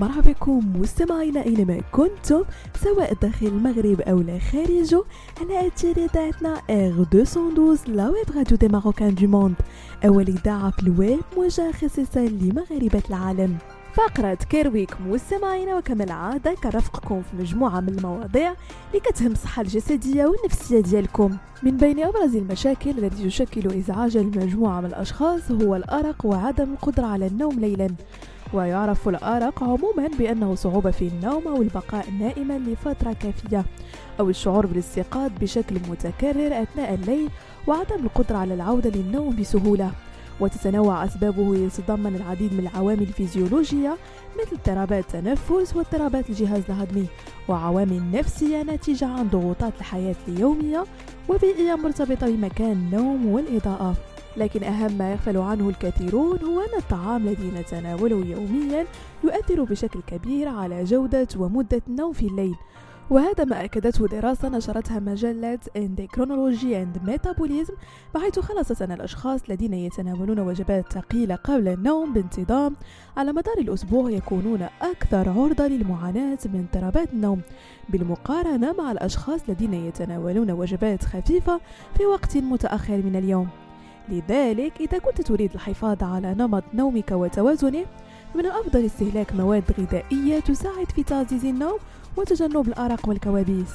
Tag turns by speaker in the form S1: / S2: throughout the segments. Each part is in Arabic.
S1: مرحبا بكم مستمعينا اينما كنتم سواء داخل المغرب او لا خارجه على اثير اذاعتنا R212 لا ويب راديو دي ماروكان دو موند، اول اذاعه في الويب موجهه خصيصا لمغاربه العالم. فقرة كيرويك مستمعينا، وكما العادة كنرافقكم في مجموعة من المواضيع اللي كتهم الصحة الجسدية والنفسية ديالكم. من بين أبرز المشاكل التي تشكل إزعاجا لمجموعة من الأشخاص هو الأرق وعدم القدرة على النوم ليلا. ويعرف الأرق عموما بأنه صعوبة في النوم أو البقاء نائما لفترة كافية، أو الشعور بالاستيقاظ بشكل متكرر أثناء الليل وعدم القدرة على العودة للنوم بسهولة. وتتنوع أسبابه، يتضمن العديد من العوامل الفيزيولوجية مثل اضطرابات التنفس واضطرابات الجهاز الهضمي، وعوامل نفسية ناتجة عن ضغوطات الحياة اليومية وبيئية مرتبطة بمكان النوم والإضاءة. لكن أهم ما يغفل عنه الكثيرون هو أن الطعام الذي نتناوله يوميا يؤثر بشكل كبير على جودة ومدة النوم في الليل، وهذا ما أكدته دراسة نشرتها مجلة Endocrinology and Metabolism، بحيث خلصت أن الأشخاص الذين يتناولون وجبات ثقيلة قبل النوم بانتظام على مدار الأسبوع يكونون أكثر عرضة للمعاناة من اضطرابات النوم بالمقارنة مع الأشخاص الذين يتناولون وجبات خفيفة في وقت متأخر من اليوم. لذلك إذا كنت تريد الحفاظ على نمط نومك وتوازنه، من الأفضل استهلاك مواد غذائية تساعد في تعزيز النوم وتجنب الأرق والكوابيس.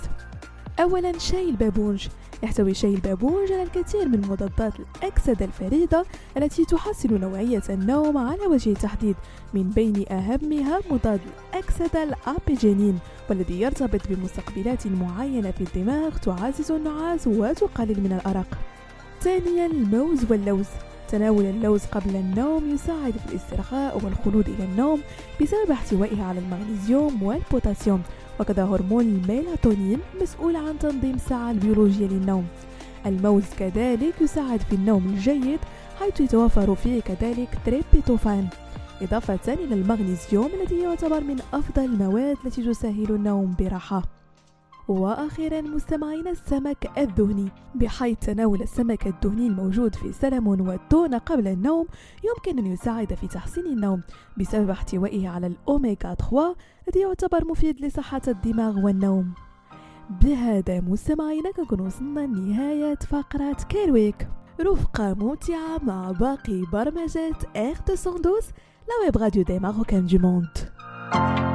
S1: أولا، شاي البابونج. يحتوي شاي البابونج على الكثير من مضادات الأكسدة الفريدة التي تحسن نوعية النوم على وجه التحديد، من بين أهمها مضاد الأكسدة الأبيجينين، والذي يرتبط بمستقبلات معينة في الدماغ تعزز النعاس وتقلل من الأرق. ثانيا، الموز واللوز. تناول اللوز قبل النوم يساعد في الاسترخاء والخلود إلى النوم بسبب احتوائه على المغنيسيوم والبوتاسيوم، وكذا هرمون الميلاتونين مسؤول عن تنظيم الساعة البيولوجية للنوم. الموز كذلك يساعد في النوم الجيد، حيث يتوفر فيه كذلك تريبتوفان، إضافة إلى المغنيسيوم الذي يعتبر من أفضل المواد التي تسهل النوم براحة. وأخيرا مستمعين، السمك الدهني، بحيث تناول السمك الدهني الموجود في السلمون والتونة قبل النوم يمكن أن يساعد في تحسين النوم بسبب احتوائه على الأوميغا 3 الذي يعتبر مفيد لصحة الدماغ والنوم. بهذا مستمعينا كنكون وصلنا لنهاية فقرة كيرويك، رفقة ممتعة مع باقي برمجات R212 لا ويب راديو دي ماروكان دو موند.